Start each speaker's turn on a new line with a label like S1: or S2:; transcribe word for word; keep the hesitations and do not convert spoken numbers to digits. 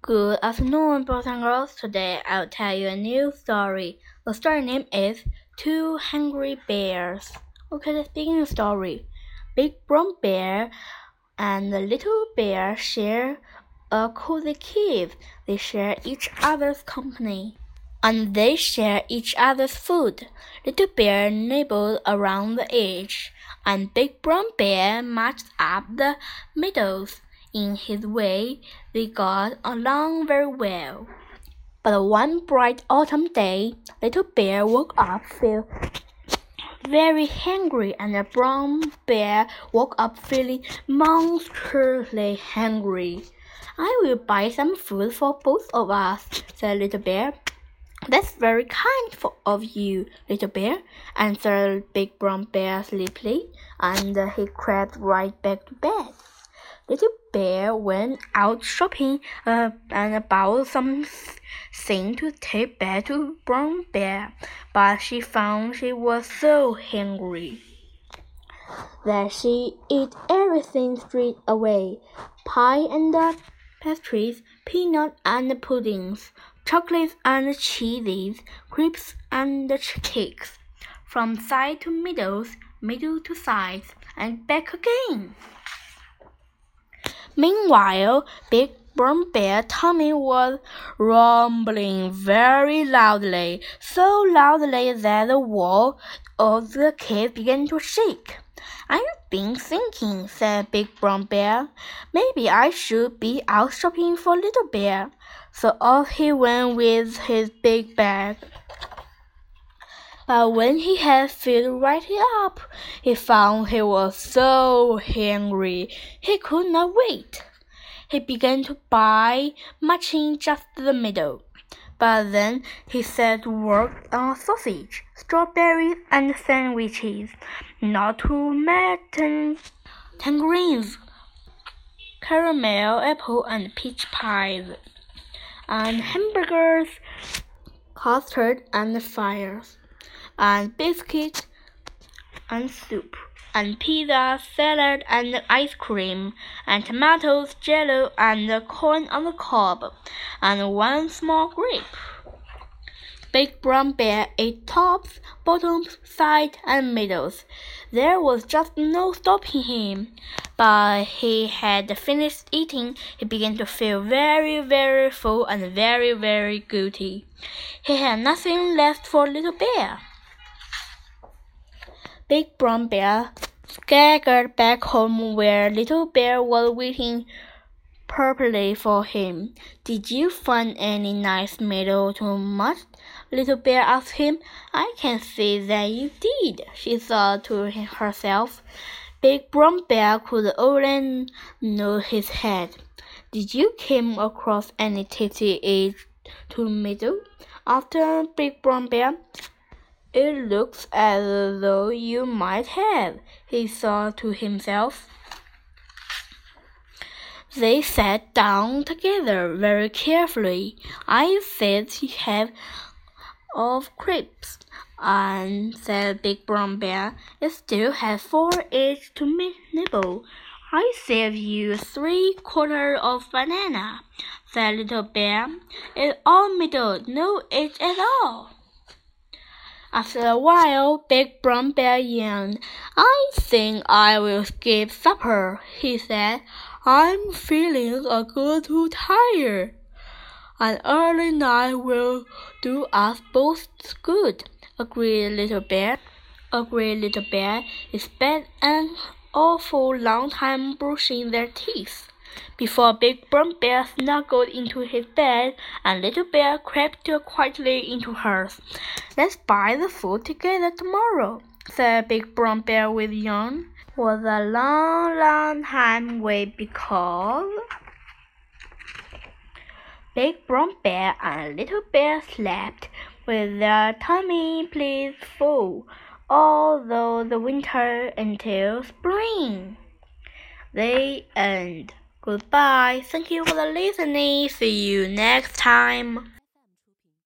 S1: Good afternoon, boys and girls. Today I'll tell you a new story. The story name is Two Hungry Bears. Okay, let's begin the story. Big brown bear and the little bear share a cozy cave. They share each other's company, and they share each other's food. Little bear nibbled around the edge, and big brown bear marched up the middles. In his way, they got along very well. But one bright autumn day, Little Bear woke up feeling very hungry, and the brown bear woke up feeling monstrously hungry. "I will buy some food for both of us," said Little Bear. "That's very kind for, of you, Little Bear," answered Big Brown Bear sleepily, and he crept right back to bed. Little Bear went out shopping uh, and bought something to take back to Brown Bear, but she found she was so hungry that she ate everything straight away: pie and pastries, peanut and puddings, chocolates and cheeses, crepes and cakes, from side to middles, middle to sides, and back again. Meanwhile, Big Brown Bear Tommy was rumbling very loudly, so loudly that the wall of the cave began to shake. "I've been thinking," said Big Brown Bear, "maybe I should be out shopping for Little Bear." So off he went with his big bag. But when he had filled right up, he found he was so hungry he could not wait. He began to buy, matching just the middle. But then he set to work on sausage, strawberries, and sandwiches, not to mention tangerines, caramel apple and peach pies, and hamburgers, custard and fries, and biscuits and soup, and pizza, salad and ice cream, and tomatoes, jello, and corn on the cob, and one small grape. Big Brown Bear ate tops, bottoms, sides, and middles. There was just no stopping him. But he had finished eating. He began to feel very, very full and very, very guilty. He had nothing left for Little Bear. Big Brown Bear scampered back home where Little Bear was waiting purposely for him. "Did you find any nice meadow to munch?" Little Bear asked him. "I can see that you did," she thought to herself. Big Brown Bear could only nod his head. "Did you come across any tasty eggs to meadow?" asked Big Brown Bear. "It looks as though you might have," he thought to himself. They sat down together very carefully. "I said you have of crepes," and said Big Brown Bear. "It still has four eggs to nibble." "I saved you three quarters of banana," said Little Bear. "It's all middle, no eggs at all." After a while, Big Brown Bear yawned. "I think I will skip supper," he said. "I'm feeling a little tired. An early night will do us both good," agreed Little Bear. Agreed Little Bear. It spent an awful long time brushing their teeth before Big Brown Bear snuggled into his bed and Little Bear crept quietly into hers. "Let's buy the food together tomorrow," said Big Brown Bear with a yawn. It was a long, long time wait because Big Brown Bear and Little Bear slept with their tummy please full all through the winter until spring. The end. Goodbye. Thank you for listening. See you next time.